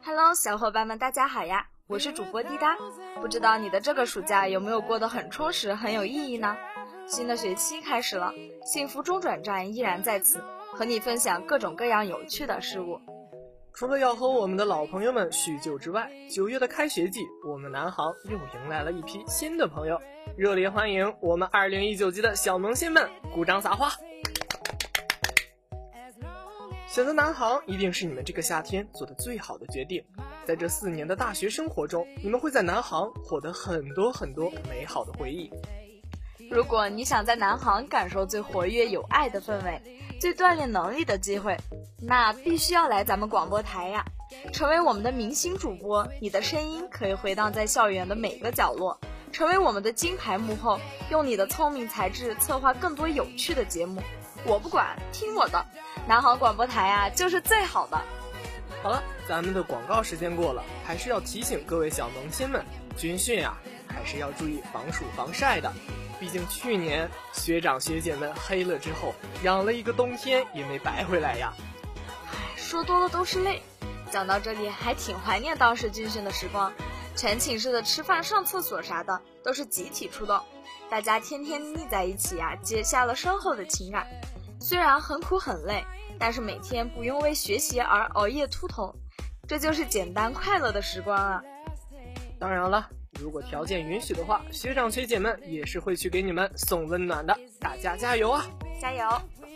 Hello， 小伙伴们，大家好呀！我是主播滴答。不知道你的这个暑假有没有过得很充实、很有意义呢？新的学期开始了，幸福中转站依然在此，和你分享各种各样有趣的事物。 除了要和我们的老朋友们叙旧之外，9月的开学季，我们南航又迎来了一批新的朋友，热烈欢迎我们2019级的小萌新们，鼓掌撒花！选择南航一定是你们这个夏天做的最好的决定。在这4年的大学生活中，你们会在南航获得很多美好的回忆。 如果你想在南航感受最活跃有爱的氛围，最锻炼能力的机会，那必须要来咱们广播台呀！成为我们的明星主播，你的声音可以回荡在校园的每个角落，成为我们的金牌幕后，用你的聪明才智策划更多有趣的节目。我不管，听我的，南航广播台啊，就是最好的。 好了，咱们的广告时间过了，还是要提醒各位小萌新们，军训啊，还是要注意防暑防晒的。毕竟去年学长学姐们黑了之后，养了一个冬天也没白回来呀。 说多了都是泪。讲到这里，还挺怀念当时军训的时光，全寝室的吃饭、上厕所啥的都是集体出动，大家天天腻在一起啊，结下了深厚的情感。虽然很苦很累，但是每天不用为学习而熬夜秃头，这就是简单快乐的时光啊。 当然了，如果条件允许的话，学长学姐们也是会去给你们送温暖的，大家加油啊！ 加油！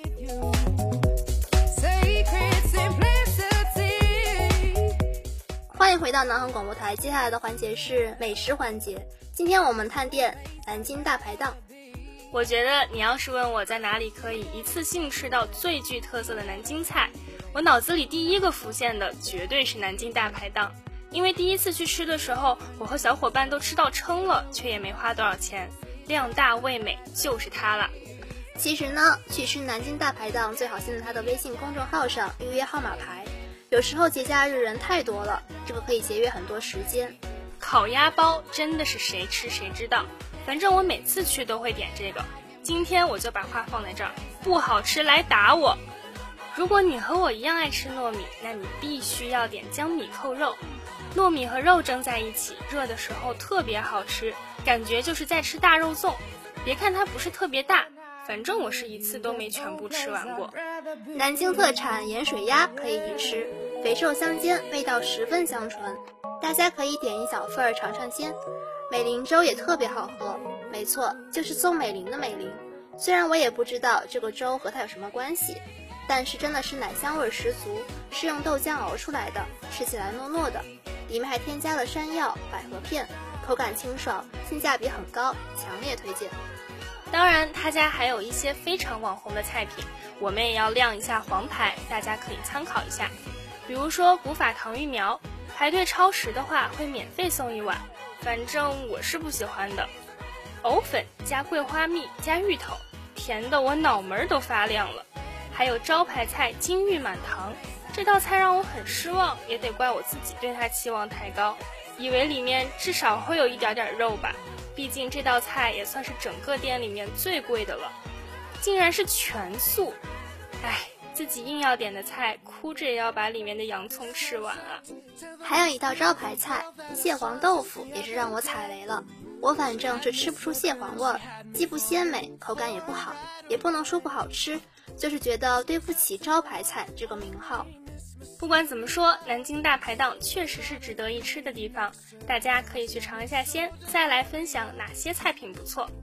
欢迎回到南航广播台，接下来的环节是美食环节。今天我们探店南京大排档。 我觉得你要是问我在哪里可以一次性吃到最具特色的南京菜，我脑子里第一个浮现的绝对是南京大排档。因为第一次去吃的时候，我和小伙伴都吃到撑了，却也没花多少钱，量大味美，就是它了。 其实呢，去吃南京大排档最好先在它的微信公众号上预约号码牌，有时候节假日人太多了，这个可以节约很多时间。 烤鸭包真的是谁吃谁知道，反正我每次去都会点这个。今天我就把话放在这儿，不好吃来打我。如果你和我一样爱吃糯米，那你必须要点江米扣肉。糯米和肉蒸在一起，热的时候特别好吃，感觉就是在吃大肉粽。别看它不是特别大，反正我是一次都没全部吃完过。 南京特产盐水鸭可以一吃，肥瘦相间，味道十分香醇，大家可以点一小份儿尝尝鲜。美龄粥也特别好喝，没错，就是宋美龄的美龄。虽然我也不知道这个粥和它有什么关系，但是真的是奶香味十足，是用豆浆熬出来的，吃起来糯糯的，里面还添加了山药、百合片，口感清爽，性价比很高，强烈推荐。 当然他家还有一些非常网红的菜品，我们也要亮一下黄牌，大家可以参考一下。比如说古法糖芋苗，排队超时的话会免费送一碗，反正我是不喜欢的。藕粉加桂花蜜加芋头，甜的我脑门都发亮了。还有招牌菜金玉满堂，这道菜让我很失望，也得怪我自己对它期望太高，以为里面至少会有一点点肉吧，毕竟这道菜也算是整个店里面最贵的了，竟然是全素。自己硬要点的菜，哭着也要把里面的洋葱吃完啊。 还有一道招牌菜蟹黄豆腐也是让我踩雷了，我反正是吃不出蟹黄味儿，既不鲜美，口感也不好，也不能说不好吃，就是觉得对不起招牌菜这个名号。 不管怎么说，南京大排档确实是值得一吃的地方，大家可以去尝一下鲜，再来分享哪些菜品不错。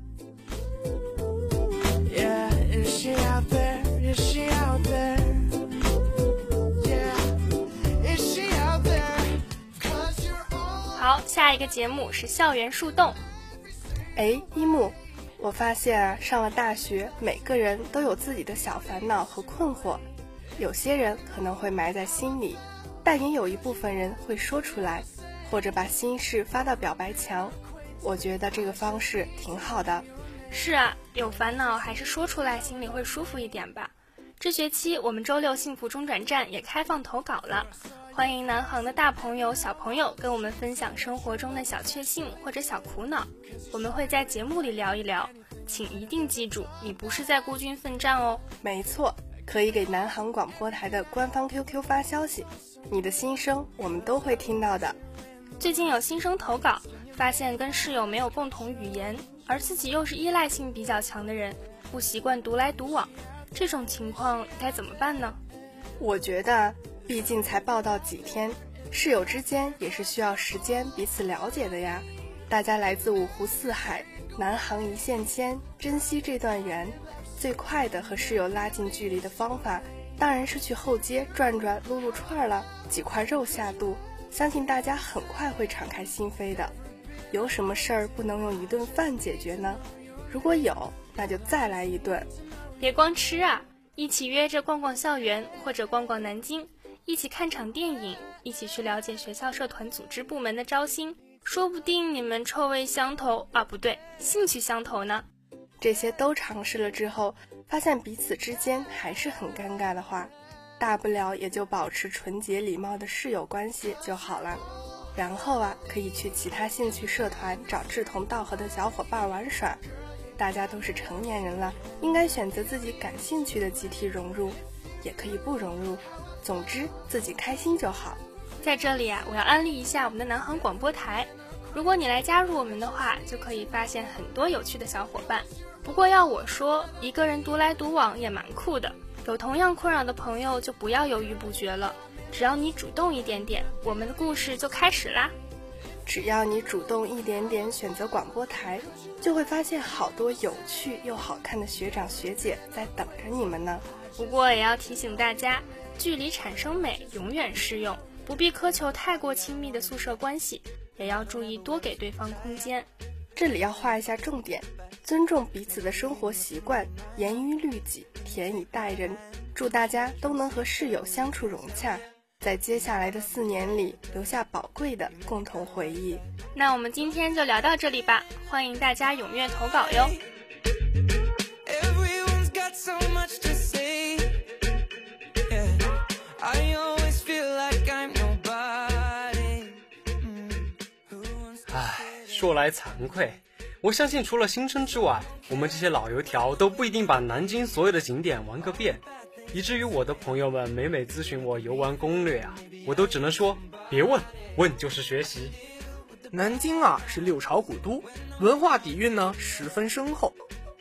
好，下一个节目是校园树洞。 一木，我发现啊，上了大学，每个人都有自己的小烦恼和困惑，有些人可能会埋在心里，但也有一部分人会说出来，或者把心事发到表白墙。我觉得这个方式挺好的。 是啊，有烦恼还是说出来心里会舒服一点吧。这学期我们周六幸福中转站也开放投稿了，欢迎南航的大朋友小朋友跟我们分享生活中的小确幸或者小苦恼，我们会在节目里聊一聊，请一定记住，你不是在孤军奋战哦。 没错，可以给南航广播台的官方 QQ 发消息你的心声我们都会听到的。 最近有新生投稿，发现跟室友没有共同语言，而自己又是依赖性比较强的人，不习惯独来独往，这种情况该怎么办呢？ 我觉得毕竟才报道几天，室友之间也是需要时间彼此了解的呀。大家来自五湖四海，南航一线牵，珍惜这段缘。最快的和室友拉近距离的方法，当然是去后街转转撸撸串了，几块肉下肚，相信大家很快会敞开心扉的。有什么事儿不能用一顿饭解决呢？如果有，那就再来一顿。 别光吃啊，一起约着逛逛校园，或者逛逛南京，一起看场电影，一起去了解学校社团组织部门的招新，说不定你们臭味相投啊，不对，兴趣相投呢。 这些都尝试了之后，发现彼此之间还是很尴尬的话，大不了也就保持纯洁礼貌的室友关系就好了。然后可以去其他兴趣社团找志同道合的小伙伴玩耍。大家都是成年人了，应该选择自己感兴趣的集体融入，也可以不融入，总之自己开心就好。 在这里我要安利一下我们的南航广播台，如果你来加入我们的话，就可以发现很多有趣的小伙伴。不过要我说，一个人独来独往也蛮酷的，有同样困扰的朋友就不要犹豫不决了，只要你主动一点点，我们的故事就开始啦。 只要你主动一点点选择广播台，就会发现好多有趣又好看的学长学姐在等着你们呢。 不过也要提醒大家，距离产生美永远适用，不必苛求太过亲密的宿舍关系，也要注意多给对方空间。 这里要画一下重点，尊重彼此的生活习惯，严于律己，甜以待人。祝大家都能和室友相处融洽，在接下来的4年里留下宝贵的共同回忆。 那我们今天就聊到这里吧，欢迎大家踊跃投稿哟。 说来惭愧，我相信除了新生之外，我们这些老油条都不一定把南京所有的景点玩个遍，以至于我的朋友们每咨询我游玩攻略我都只能说别问，问就是学习。 南京是六朝古都，文化底蕴呢十分深厚，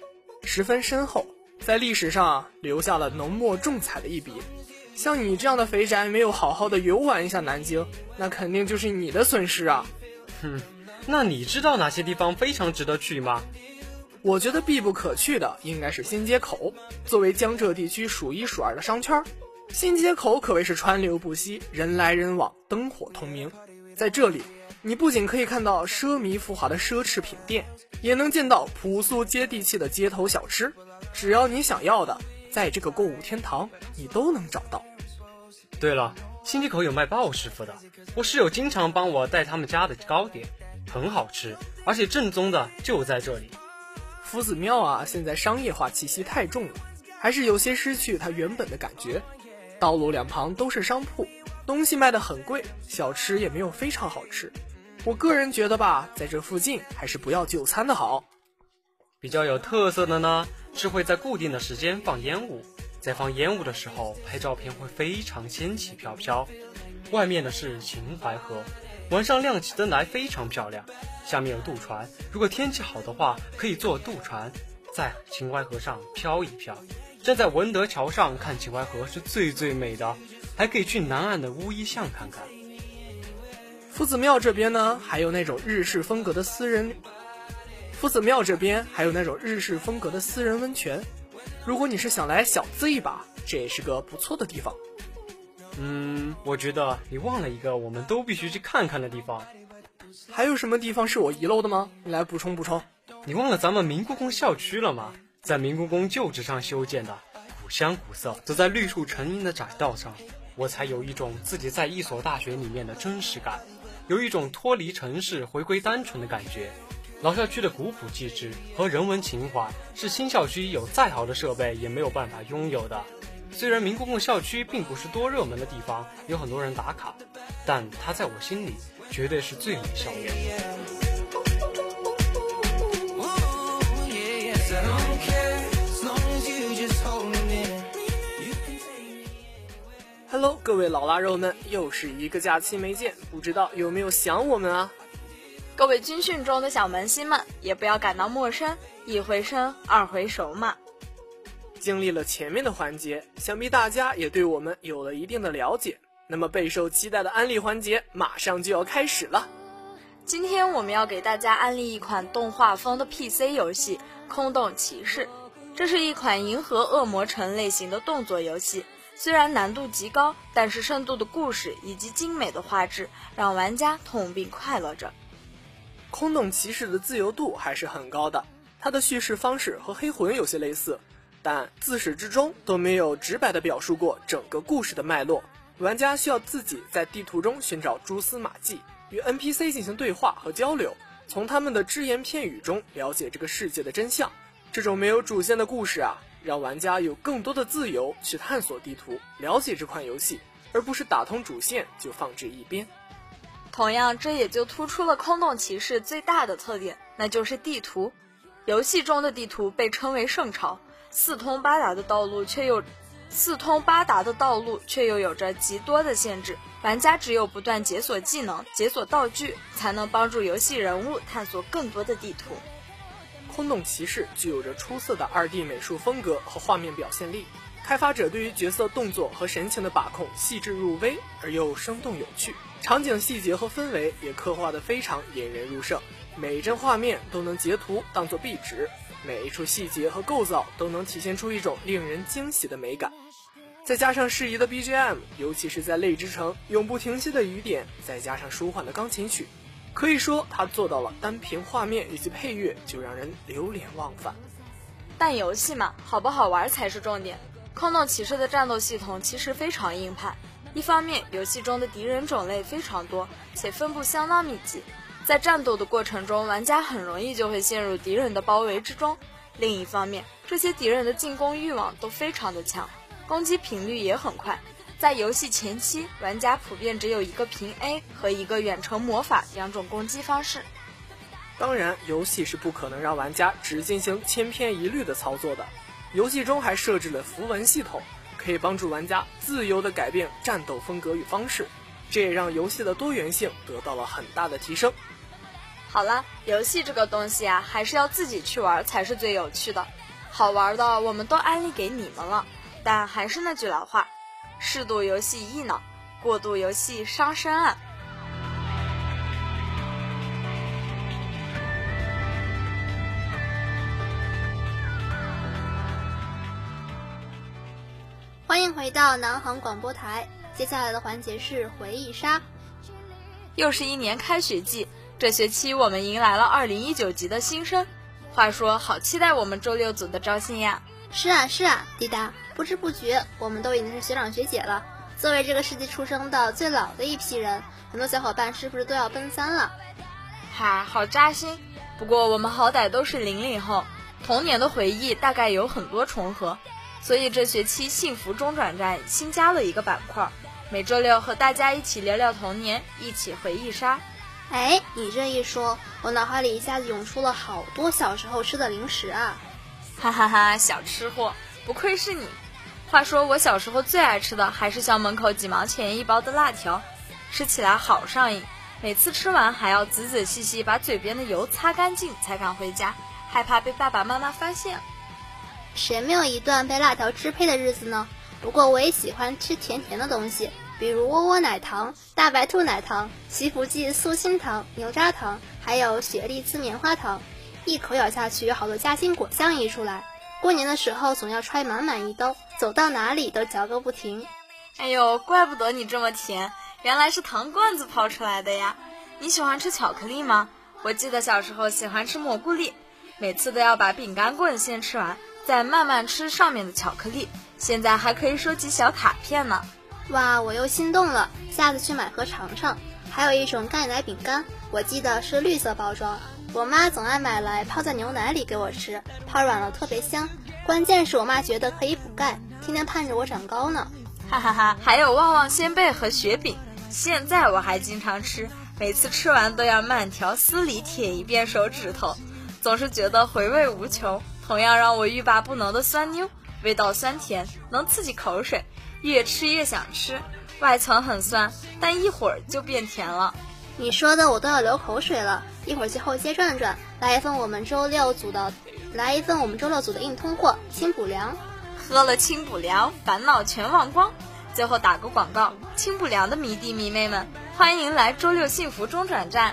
在历史上留下了浓墨重彩的一笔。像你这样的肥宅没有好好的游玩一下南京，那肯定就是你的损失啊。 那你知道哪些地方非常值得去吗？ 我觉得必不可去的应该是新街口，作为江浙地区数1数2的商圈，新街口可谓是川流不息，人来人往，灯火通明。在这里，你不仅可以看到奢靡浮华的奢侈品店，也能见到朴素接地气的街头小吃，只要你想要的，在这个购物天堂你都能找到。 对了，新街口有卖鲍师傅的，我室友经常帮我带他们家的糕点，很好吃，而且正宗的就在这里。 夫子庙现在商业化气息太重了，还是有些失去它原本的感觉。道路两旁都是商铺，东西卖得很贵，小吃也没有非常好吃。我个人觉得在这附近还是不要就餐的好。 比较有特色的呢，是会在固定的时间放烟雾，在放烟雾的时候拍照片会非常仙气飘飘。外面的是秦淮河，晚上亮起灯来非常漂亮，下面有渡船，如果天气好的话可以坐渡船在秦淮河上飘一飘，站在文德桥上看秦淮河是最美的，还可以去南岸的乌衣巷看看。 夫子庙这边呢还有那种日式风格的私人温泉，如果你是想来小资一把，这也是个不错的地方。 我觉得你忘了一个我们都必须去看看的地方。 还有什么地方是我遗漏的吗？你来补充。 你忘了咱们明故宫校区了吗？在明故宫旧址上修建的，古香古色，走在绿树成荫的窄道上，我才有一种自己在一所大学里面的真实感，有一种脱离城市回归单纯的感觉。老校区的古朴气质和人文情怀是新校区有再好的设备也没有办法拥有的。虽然明故宫校区并不是多热门的地方，有很多人打卡，但它在我心里绝对是最美校园。 Hello， 各位老腊肉们，又是一个假期没见，不知道有没有想我们啊？ 各位军训中的小萌新们，也不要感到陌生，一回生，二回熟嘛。 经历了前面的环节，想必大家也对我们有了一定的了解。那么备受期待的安利环节马上就要开始了。 今天我们要给大家安利一款动画风的 PC 游戏《空洞骑士》，这是一款银河恶魔城类型的动作游戏。虽然难度极高，但是深度的故事以及精美的画质让玩家痛并快乐着。 空洞骑士的自由度还是很高的，它的叙事方式和黑魂有些类似，但自始至终都没有直白地表述过整个故事的脉络。玩家需要自己在地图中寻找蛛丝马迹，与 NPC 进行对话和交流，从他们的只言片语中了解这个世界的真相。这种没有主线的故事啊，让玩家有更多的自由去探索地图，了解这款游戏，而不是打通主线就放置一边。 同样，这也就突出了空洞骑士最大的特点，那就是地图。游戏中的地图被称为圣潮，四通八达的道路却又有着极多的限制，玩家只有不断解锁技能、解锁道具，才能帮助游戏人物探索更多的地图。 空洞骑士具有着出色的 2D 美术风格和画面表现力，开发者对于角色动作和神情的把控细致入微而又生动有趣，场景细节和氛围也刻画得非常引人入胜，每一帧画面都能截图当作壁纸，每一处细节和构造都能体现出一种令人惊喜的美感。再加上适宜的 BGM， 尤其是在泪之城永不停息的雨点，再加上舒缓的钢琴曲，可以说它做到了单凭画面以及配乐就让人流连忘返。 但游戏嘛，好不好玩才是重点。空洞骑士的战斗系统其实非常硬派，一方面游戏中的敌人种类非常多，且分布相当密集，在战斗的过程中，玩家很容易就会陷入敌人的包围之中。另一方面，这些敌人的进攻欲望都非常的强，攻击频率也很快。在游戏前期，玩家普遍只有一个平 A 和一个远程魔法两种攻击方式。 当然，游戏是不可能让玩家只进行千篇一律的操作的，游戏中还设置了符文系统，可以帮助玩家自由地改变战斗风格与方式，这也让游戏的多元性得到了很大的提升。 好了，游戏这个东西啊，还是要自己去玩才是最有趣的。好玩的我们都安利给你们了，但还是那句老话，适度游戏益脑，过度游戏伤身啊。 欢迎回到南航广播台，接下来的环节是回忆杀。 又是一年开学季，这学期我们迎来了2019级的新生。话说，好期待我们周六组的招新呀！ 是啊，滴答，不知不觉我们都已经是学长学姐了。作为这个世纪出生的最老的一批人，很多小伙伴是不是都要奔3了？ 哈，好扎心。不过我们好歹都是00后，童年的回忆大概有很多重合，所以这学期幸福中转站新加了一个板块，每周六和大家一起聊聊童年，一起回忆杀。 哎，你这一说，我脑海里一下子涌出了好多小时候吃的零食啊！ 哈哈哈，小吃货，不愧是你。话说我小时候最爱吃的还是校门口几毛钱一包的辣条，吃起来好上瘾，每次吃完还要仔仔细细把嘴边的油擦干净才敢回家，害怕被爸爸妈妈发现。 谁没有一段被辣条支配的日子呢？不过我也喜欢吃甜甜的东西，比如窝窝奶糖、大白兔奶糖、祈福记酥心糖、牛轧糖，还有雪莉滋棉花糖，一口咬下去，好多夹心果香溢出来。过年的时候总要揣满满一兜，走到哪里都嚼个不停。 哎呦，怪不得你这么甜，原来是糖罐子泡出来的呀！你喜欢吃巧克力吗？我记得小时候喜欢吃蘑菇粒，每次都要把饼干棍先吃完，再慢慢吃上面的巧克力，现在还可以收集小卡片呢。 哇，我又心动了，下次去买盒尝尝。还有一种钙奶饼干，我记得是绿色包装，我妈总爱买来泡在牛奶里给我吃，泡软了特别香。关键是我妈觉得可以补钙，天天盼着我长高呢。 哈哈哈，还有旺旺仙贝和雪饼，现在我还经常吃，每次吃完都要慢条斯理舔一遍手指头，总是觉得回味无穷。同样让我欲罢不能的酸妞，味道酸甜，能刺激口水， 越吃越想吃，外层很酸，但一会儿就变甜了。 你说的我都要流口水了，一会儿去后街转转，来一份我们周六组的硬通货清补凉。 喝了清补凉，烦恼全忘光。最后打个广告，清补凉的迷弟迷妹们，欢迎来周六幸福中转站。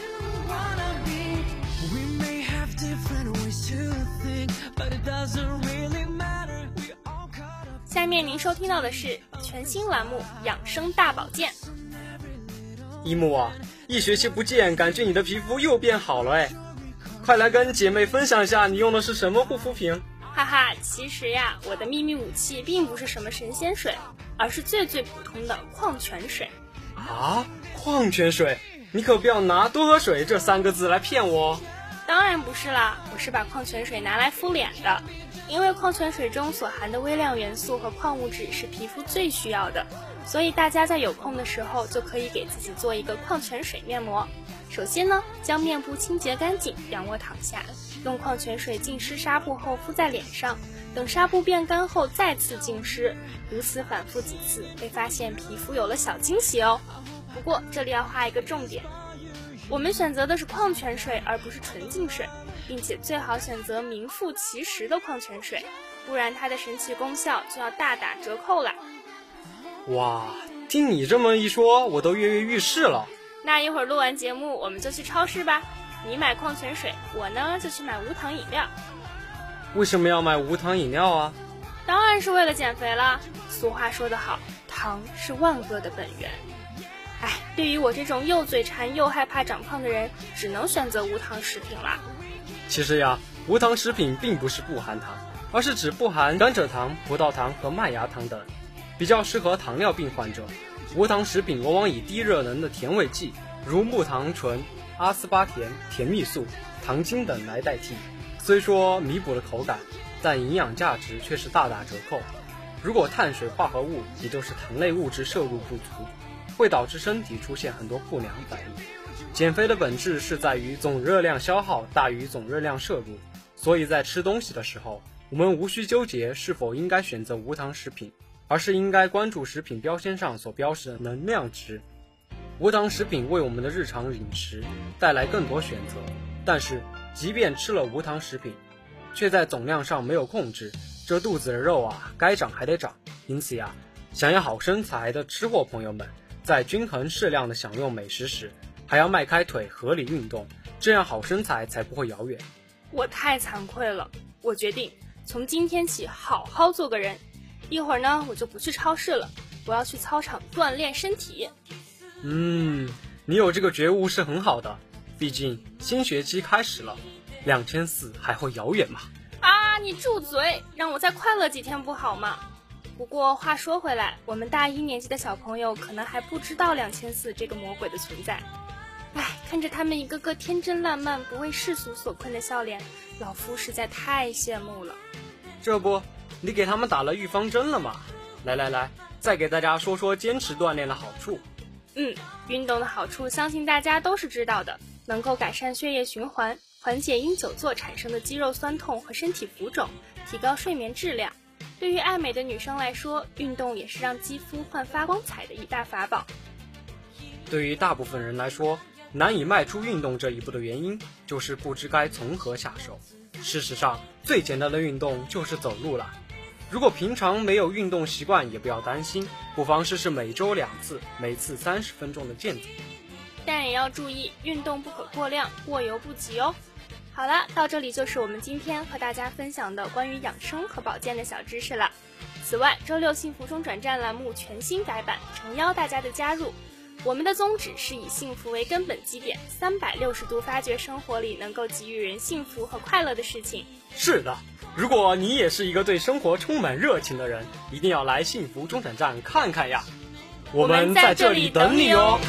下面您收听到的是全新栏目《养生大保健》。 一木啊，一学期不见，感觉你的皮肤又变好了哎，快来跟姐妹分享一下你用的是什么护肤品。 哈哈，其实呀，我的秘密武器并不是什么神仙水，而是最普通的矿泉水。 啊，矿泉水？你可不要拿多喝水这3个字来骗我。 当然不是啦，我是把矿泉水拿来敷脸的，因为矿泉水中所含的微量元素和矿物质是皮肤最需要的，所以大家在有空的时候就可以给自己做一个矿泉水面膜。首先呢，将面部清洁干净，仰卧躺下，用矿泉水浸湿纱布后敷在脸上，等纱布变干后再次浸湿，如此反复几次，会发现皮肤有了小惊喜哦。不过这里要画一个重点，我们选择的是矿泉水而不是纯净水，并且最好选择名副其实的矿泉水，不然它的神奇功效就要大打折扣了。 哇，听你这么一说，我都跃跃欲试了。 那一会儿录完节目我们就去超市吧，你买矿泉水，我呢就去买无糖饮料。 为什么要买无糖饮料啊？ 当然是为了减肥啦。俗话说得好，糖是万恶的本源。对于我这种又嘴馋又害怕长胖的人，只能选择无糖食品啦。 其实呀，无糖食品并不是不含糖，而是指不含甘蔗糖、葡萄糖和麦芽糖等，比较适合糖尿病患者。无糖食品往往以低热能的甜味剂，如木糖醇、阿斯巴甜、甜蜜素、糖精等来代替。虽说弥补了口感，但营养价值却是大打折扣。如果碳水化合物，也就是糖类物质摄入不足，会导致身体出现很多不良反应。减肥的本质是在于总热量消耗大于总热量摄入，所以在吃东西的时候，我们无需纠结是否应该选择无糖食品，而是应该关注食品标签上所标示的能量值。无糖食品为我们的日常饮食带来更多选择，但是即便吃了无糖食品，却在总量上没有控制，这肚子的肉啊，该长还得长。因此呀，想要好身材的吃货朋友们，在均衡适量的享用美食时，还要迈开腿合理运动，这样好身材才不会遥远。 我太惭愧了，我决定从今天起好好做个人。一会儿呢，我就不去超市了，我要去操场锻炼身体。 你有这个觉悟是很好的，毕竟新学期开始了，2400还会遥远吗？ 你住嘴，让我再快乐几天不好吗？不过话说回来，我们大1年级的小朋友可能还不知道2400这个魔鬼的存在。看着他们一个个天真烂漫、不为世俗所困的笑脸，老夫实在太羡慕了。 这不，你给他们打了预防针了吗？来，再给大家说说坚持锻炼的好处。 运动的好处相信大家都是知道的，能够改善血液循环，缓解因久坐产生的肌肉酸痛和身体浮肿，提高睡眠质量。对于爱美的女生来说，运动也是让肌肤焕发光彩的一大法宝。 对于大部分人来说，难以迈出运动这一步的原因，就是不知该从何下手。事实上，最简单的运动就是走路了。如果平常没有运动习惯，也不要担心，不妨试试每周2次，每次30分钟的健走。 但也要注意，运动不可过量，过犹不及哦。好了，到这里就是我们今天和大家分享的关于养生和保健的小知识了。此外，周六幸福中转站栏目全新改版，诚邀大家的加入。我们的宗旨是以幸福为根本基点，360度发掘生活里能够给予人幸福和快乐的事情。 是的，如果你也是一个对生活充满热情的人，一定要来幸福中转站看看呀！我们在这里等你哦。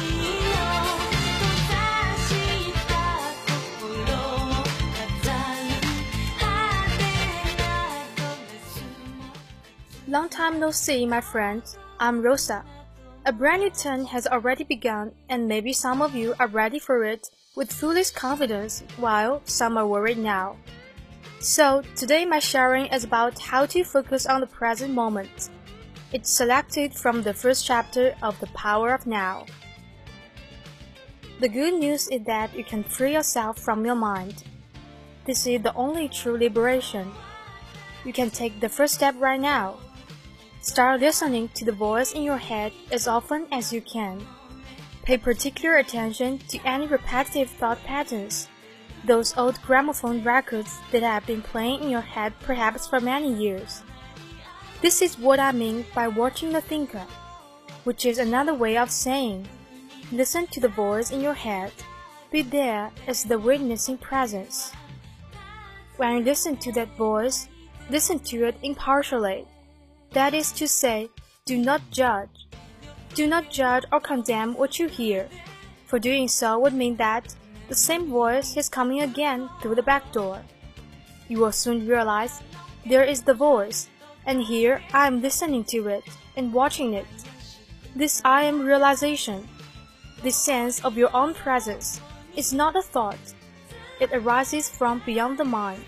Long time no see, my friends. I'm Rosa. A brand new turn has already begun, and maybe some of you are ready for it with foolish confidence, while some are worried now. So, today my sharing is about how to focus on the present moment. It's selected from the first chapter of The Power of Now. The good news is that you can free yourself from your mind. This is the only true liberation. You can take the first step right now. Start listening to the voice in your head as often as you can. Pay particular attention to any repetitive thought patterns, those old gramophone records that have been playing in your head perhaps for many years. This is what I mean by watching the thinker, which is another way of saying, listen to the voice in your head, be there as the witnessing presence. When you listen to that voice, listen to it impartially. That is to say, do not judge. Do not judge or condemn what you hear, for doing so would mean that the same voice is coming again through the back door. You will soon realize there is the voice, and here I am listening to it and watching it. This I am realization, this sense of your own presence, is not a thought. It arises from beyond the mind.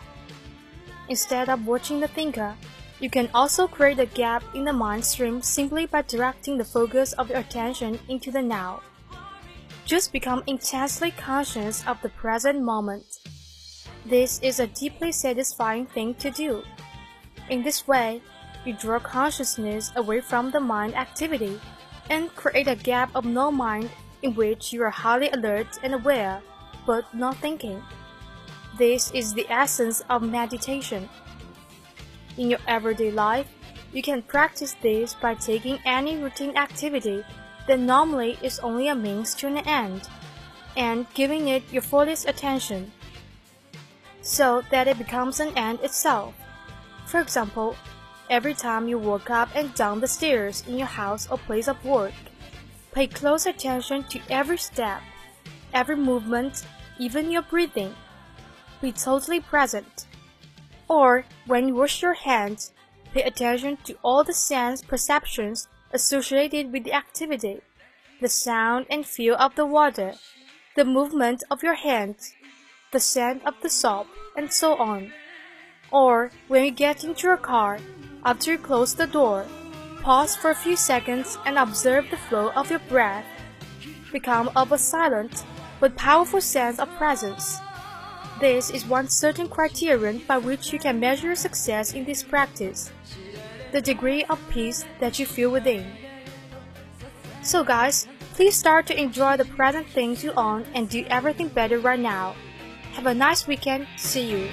Instead of watching the thinker, you can also create a gap in the mind stream simply by directing the focus of your attention into the now. Just become intensely conscious of the present moment. This is a deeply satisfying thing to do. In this way, you draw consciousness away from the mind activity and create a gap of no mind in which you are highly alert and aware, but not thinking. This is the essence of meditation. In your everyday life, you can practice this by taking any routine activity that normally is only a means to an end, and giving it your fullest attention, so that it becomes an end itself. For example, every time you walk up and down the stairs in your house or place of work, pay close attention to every step, every movement, even your breathing. Be totally present. Or, when you wash your hands, pay attention to all the sense perceptions associated with the activity, the sound and feel of the water, the movement of your hands, the scent of the soap, and so on. Or, when you get into your car, after you close the door, pause for a few seconds and observe the flow of your breath. Become of a silent but powerful sense of presence. This is one certain criterion by which you can measure success in this practice, the degree of peace that you feel within. So guys, please start to enjoy the present things you own and do everything better right now. Have a nice weekend. See you.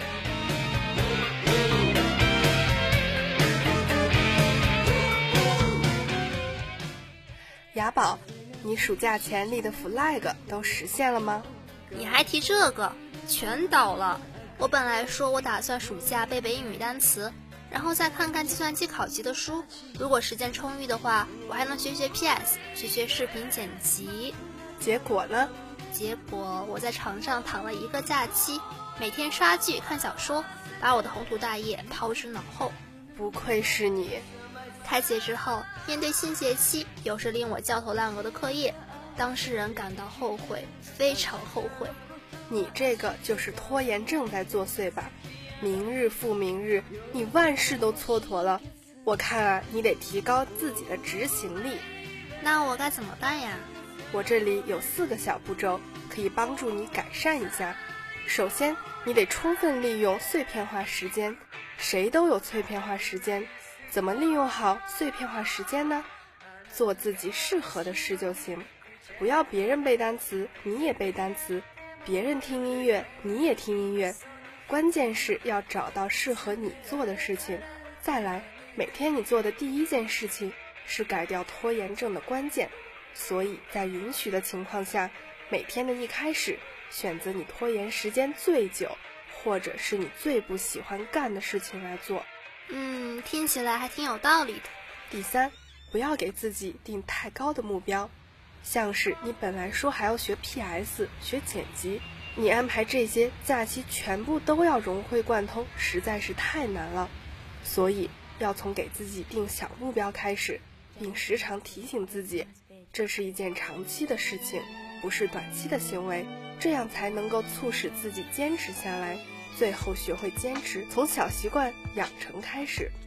雅宝，你暑假前立的 flag 都实现了吗？ 你还提这个？全倒了。我本来说我打算暑假背背英语单词，然后再看看计算机考级的书。如果时间充裕的话，我还能学学 PS， 学学视频剪辑。 结果呢？ 结果我在床上躺了一个假期，每天刷剧看小说，把我的宏图大业抛之脑后。 不愧是你。 开学之后，面对新学期又是令我焦头烂额的课业，当事人感到后悔，非常后悔。 你这个就是拖延症在作祟吧？明日复明日，你万事都蹉跎了。我看啊，你得提高自己的执行力。 那我该怎么办呀？ 我这里有4个小步骤，可以帮助你改善一下。首先，你得充分利用碎片化时间。谁都有碎片化时间，怎么利用好碎片化时间呢？做自己适合的事就行。不要别人背单词，你也背单词。别人听音乐，你也听音乐，关键是要找到适合你做的事情。再来，每天你做的第一件事情是改掉拖延症的关键，所以在允许的情况下，每天的一开始，选择你拖延时间最久，或者是你最不喜欢干的事情来做。 听起来还挺有道理的。 第三，不要给自己定太高的目标。像是你本来说还要学 PS 学剪辑，你安排这些假期全部都要融会贯通，实在是太难了。所以要从给自己定小目标开始，并时常提醒自己，这是一件长期的事情，不是短期的行为，这样才能够促使自己坚持下来，最后学会坚持，从小习惯养成开始。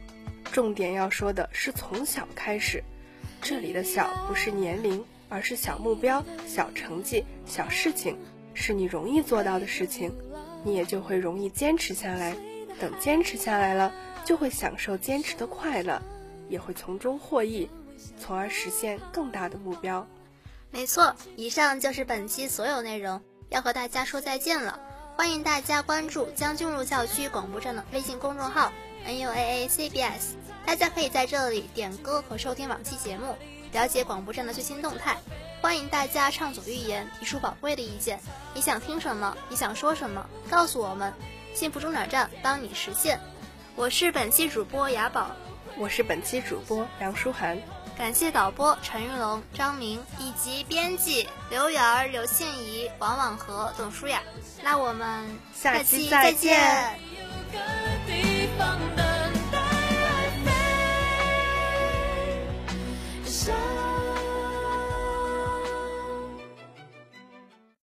重点要说的是从小开始，这里的小不是年龄，而是小目标、小成绩、小事情，是你容易做到的事情，你也就会容易坚持下来。等坚持下来了，就会享受坚持的快乐，也会从中获益，从而实现更大的目标。 没错，以上就是本期所有内容，要和大家说再见了。欢迎大家关注将军路校区广播站的微信公众号 NUAACBS， 大家可以在这里点歌和收听往期节目，了解广播站的最新动态。欢迎大家畅所欲言，提出宝贵的意见。你想听什么？你想说什么？告诉我们，幸福中转站帮你实现。我是本期主播雅宝， 我是本期主播梁舒涵。 感谢导播陈玉龙、张明以及编辑刘媛、刘庆怡、王婉和、董舒雅。那我们下期再见。 有个地方等待爱飞。